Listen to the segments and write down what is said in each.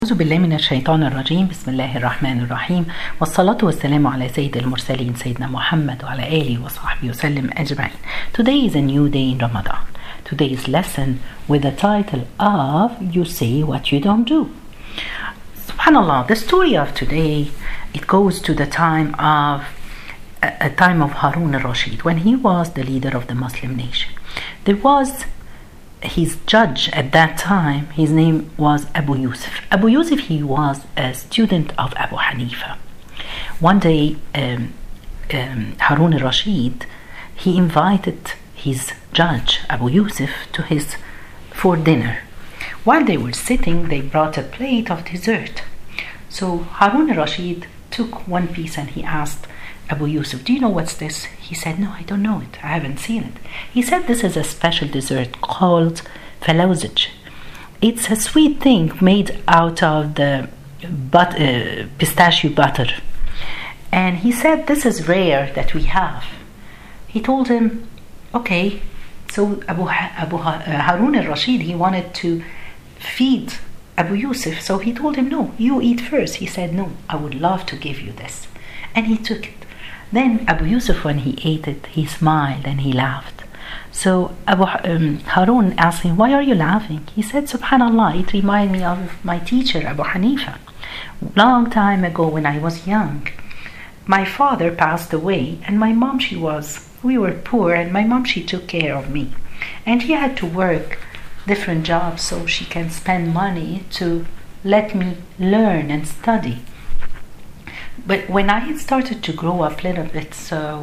أعوذ بالله من الشيطان الرجيم. بسم الله الرحمن الرحيم، والصلاة والسلام على سيد المرسلين سيدنا محمد وعلى آله وصحبه وسلم أجمعين. Today is a new day in Ramadan. Today's lesson with the title of You Say What You Don't Do. Subhanallah, the story of today, it goes to the time of Harun al-Rashid, when he was the leader of the Muslim nation. There was his judge at that time. His name was Abu Yusuf. Abu Yusuf, he was a student of Abu Hanifa. One day, Harun al-Rashid, he invited his judge Abu Yusuf for dinner. While they were sitting, they brought a plate of dessert. So Harun al-Rashid took one piece and he asked Abu Yusuf, "Do you know what's this?" He said, "No, I don't know it. I haven't seen it." He said, "This is a special dessert called falawzij. It's a sweet thing made out of the pistachio butter." And he said, "This is rare that we have." He told him, "Okay." So Harun al-Rashid, he wanted to feed Abu Yusuf. So he told him, "No, you eat first." He said, "No, I would love to give you this." And he took it. Then Abu Yusuf, when he ate it, he smiled and he laughed. So Harun asked him, "Why are you laughing?" He said, "Subhanallah, it reminded me of my teacher, Abu Hanifa. Long time ago when I was young, my father passed away and my mom, we were poor, and my mom, she took care of me. And he had to work different jobs so she can spend money to let me learn and study. But when I started to grow up a little bit,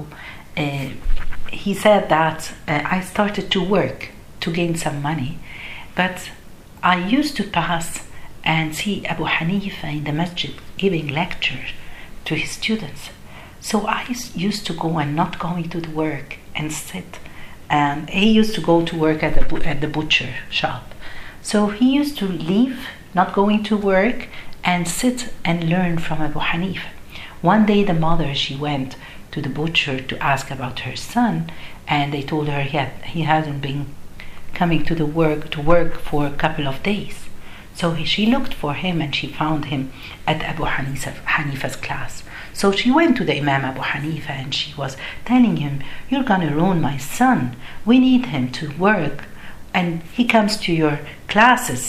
he said that I started to work to gain some money. But I used to pass and see Abu Hanifa in the masjid giving lectures to his students. So I used to go and not going to the work and sit. And he used to go to work at the butcher shop. So he used to leave, not going to work, and sit and learn from Abu Hanifa. One day the mother, she went to the butcher to ask about her son, and they told her he hadn't been coming to work for a couple of days. So she looked for him and she found him at Abu Hanifa's class. So she went to the Imam Abu Hanifa and she was telling him, "You're gonna ruin my son. We need him to work, and he comes to your classes,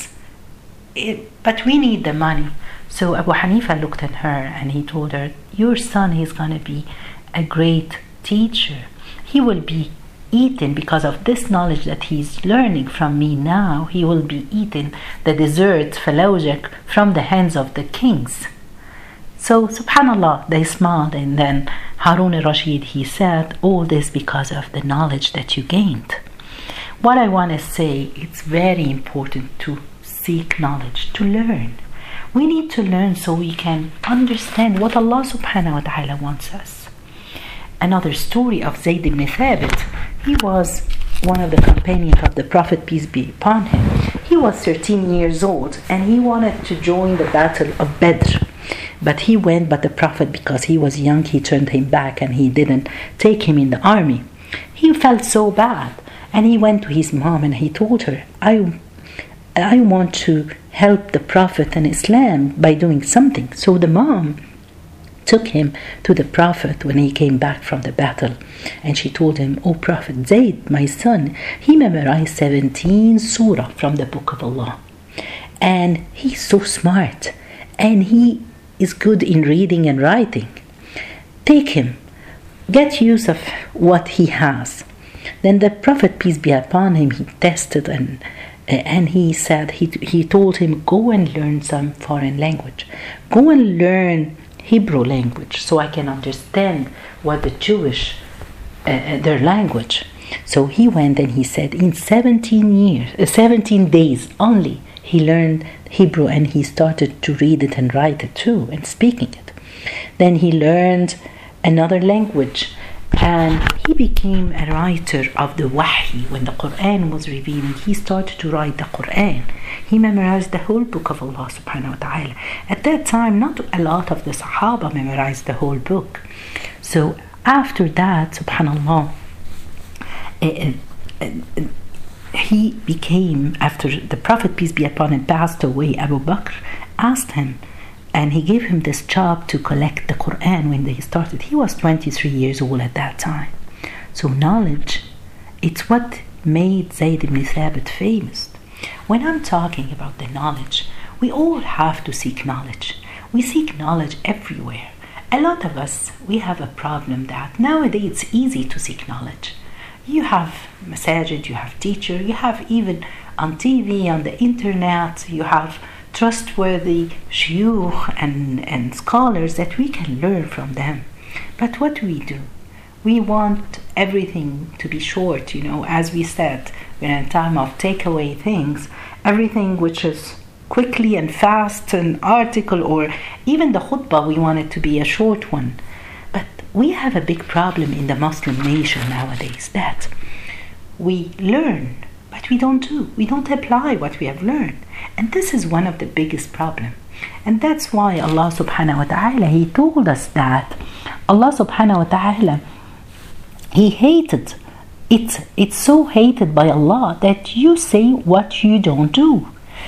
but we need the money." So Abu Hanifa looked at her and he told her, "Your son is going to be a great teacher. He will be eating, because of this knowledge that he's learning from me now, he will be eating the dessert falawzij from the hands of the kings." So subhanallah, they smiled, and then Harun al-Rashid, he said, "All this because of the knowledge that you gained." What I want to say, it's very important to seek knowledge, to learn. We need to learn so we can understand what Allah subhanahu wa ta'ala wants us. Another story of Zayd ibn Thabit. He was one of the companions of the Prophet, peace be upon him. He was 13 years old and he wanted to join the battle of Badr. But he went, but the Prophet, because he was young, he turned him back and he didn't take him in the army. He felt so bad and he went to his mom and he told her, I want to help the Prophet and Islam by doing something. So the mom took him to the Prophet when he came back from the battle, and she told him, "Oh Prophet, Zayd, my son, he memorized 17 surah from the book of Allah, and he's so smart and he is good in reading and writing. Take him, get use of what he has." Then the Prophet, peace be upon him, he tested and he said, he told him, "Go and learn some foreign language. Go and learn Hebrew language so I can understand what the Jewish, their language." So he went and he said in 17 days only, he learned Hebrew and he started to read it and write it too and speaking it. Then he learned another language, and he became a writer of the Wahy. When the Quran was revealing, he started to write the Quran. He memorized the whole book of Allah subhanahu wa ta'ala. At that time, not a lot of the Sahaba memorized the whole book. So after that, subhanallah, he became, after the Prophet, peace be upon him, passed away, Abu Bakr asked him, and he gave him this job to collect the Quran when they started. He was 23 years old at that time. So knowledge, it's what made Zayd ibn Thabit famous. When I'm talking about the knowledge, we all have to seek knowledge. We seek knowledge everywhere. A lot of us, we have a problem that nowadays it's easy to seek knowledge. You have masajid, you have teacher, you have even on TV, on the internet, you have trustworthy shuyukh and scholars that we can learn from them. But what do? We want everything to be short, as we said, we're in a time of takeaway things, everything which is quickly and fast, an article or even the khutbah, we want it to be a short one. But we have a big problem in the Muslim nation nowadays that we learn, but we don't do. We don't apply what we have learned. And this is one of the biggest problems. And that's why Allah subhanahu wa ta'ala, He told us that Allah subhanahu wa ta'ala, He hated it. It's so hated by Allah that you say what you don't do.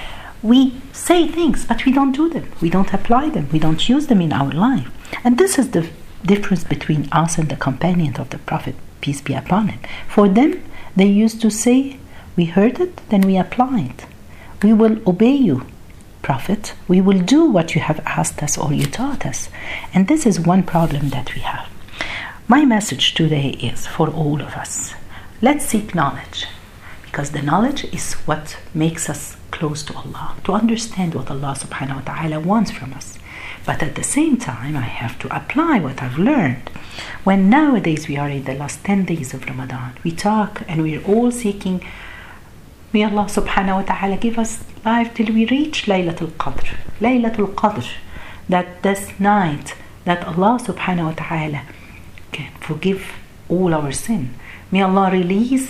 We say things, but we don't do them. We don't apply them. We don't use them in our life. And this is the difference between us and the companions of the Prophet, peace be upon him. For them, they used to say, we heard it, then we apply it. We will obey you, Prophet. We will do what you have asked us or you taught us. And this is one problem that we have. My message today is for all of us. Let's seek knowledge, because the knowledge is what makes us close to Allah, to understand what Allah subhanahu wa ta'ala wants from us. But at the same time, I have to apply what I've learned. When nowadays we are in the last 10 days of Ramadan, we talk and we're all seeking, may Allah subhanahu wa ta'ala give us life till we reach Laylatul Qadr. Laylatul Qadr, that this night that Allah subhanahu wa ta'ala can forgive all our sin. May Allah release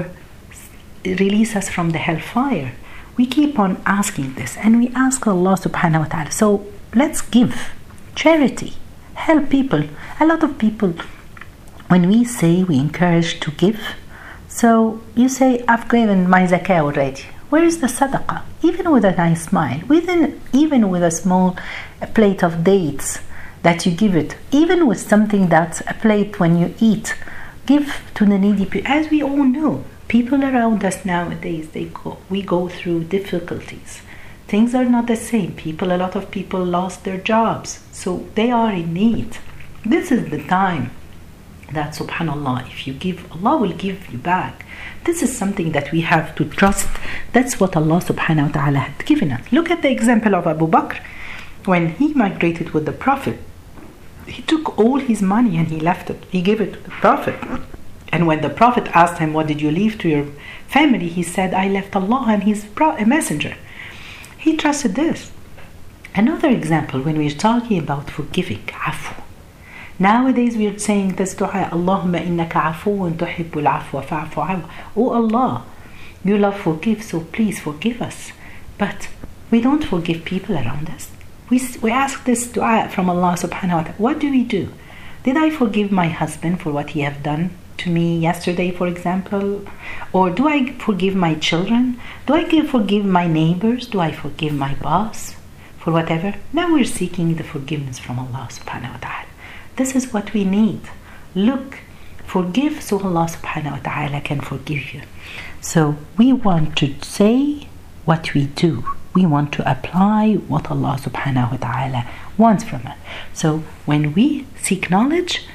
us from the hellfire. We keep on asking this, and we ask Allah subhanahu wa ta'ala. So let's give charity, help people. A lot of people, when we say we encourage to give, so you say, I've given my zakah already. Where is the sadaqah? Even with a nice smile, even with a small plate of dates that you give it, even with something that's a plate when you eat, give to the needy people. As we all know, people around us nowadays, we go through difficulties. Things are not the same. A lot of people lost their jobs, so they are in need. This is the time that, subhanallah, if you give, Allah will give you back. This is something that we have to trust. That's what Allah subhanahu wa ta'ala had given us. Look at the example of Abu Bakr. When he migrated with the Prophet, he took all his money and he left it. He gave it to the Prophet. And when the Prophet asked him, what did you leave to your family? He said, I left Allah and His messenger. He trusted this. Another example, when we're talking about forgiving, afu. Nowadays we're saying this dua, Allahumma innaka afuun tuhibbul afwa fa'afu anhu. Oh Allah, you love forgive, so please forgive us. But we don't forgive people around us. We ask this dua from Allah subhanahu wa ta'ala. What do? Did I forgive my husband for what he have done to me yesterday, for example? Or do I forgive my children? Do I forgive my neighbors? Do I forgive my boss for whatever? Now we're seeking the forgiveness from Allah subhanahu wa ta'ala. This is what we need. Look, forgive so Allah subhanahu wa ta'ala can forgive you. So we want to say what we do. We want to apply what Allah subhanahu wa ta'ala wants from us. So when we seek knowledge,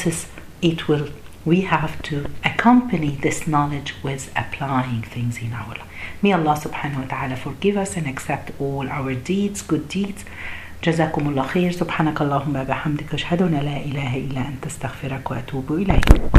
we have to accompany this knowledge with applying things in our life. May Allah subhanahu wa ta'ala forgive us and accept all our deeds, good deeds. جزاكم الله خير. سبحانك اللهم وبحمدك أشهد أن لا إله إلا أنت أستغفرك وأتوب إليك.